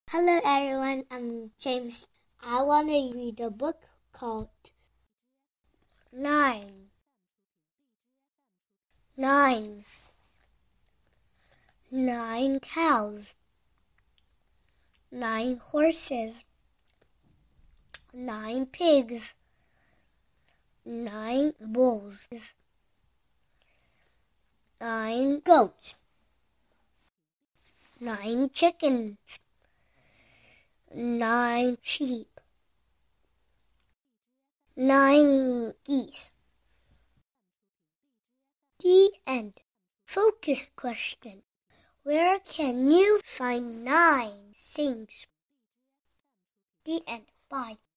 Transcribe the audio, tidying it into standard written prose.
Hello everyone, I'm James. I want to read a book called Nine. Nine cows, 9 horses, 9 pigs, 9 bulls, 9 goats, 9 chickens, 9 sheep, 9 geese. The end. Focus question. Where can you find 9 things? The end. Bye.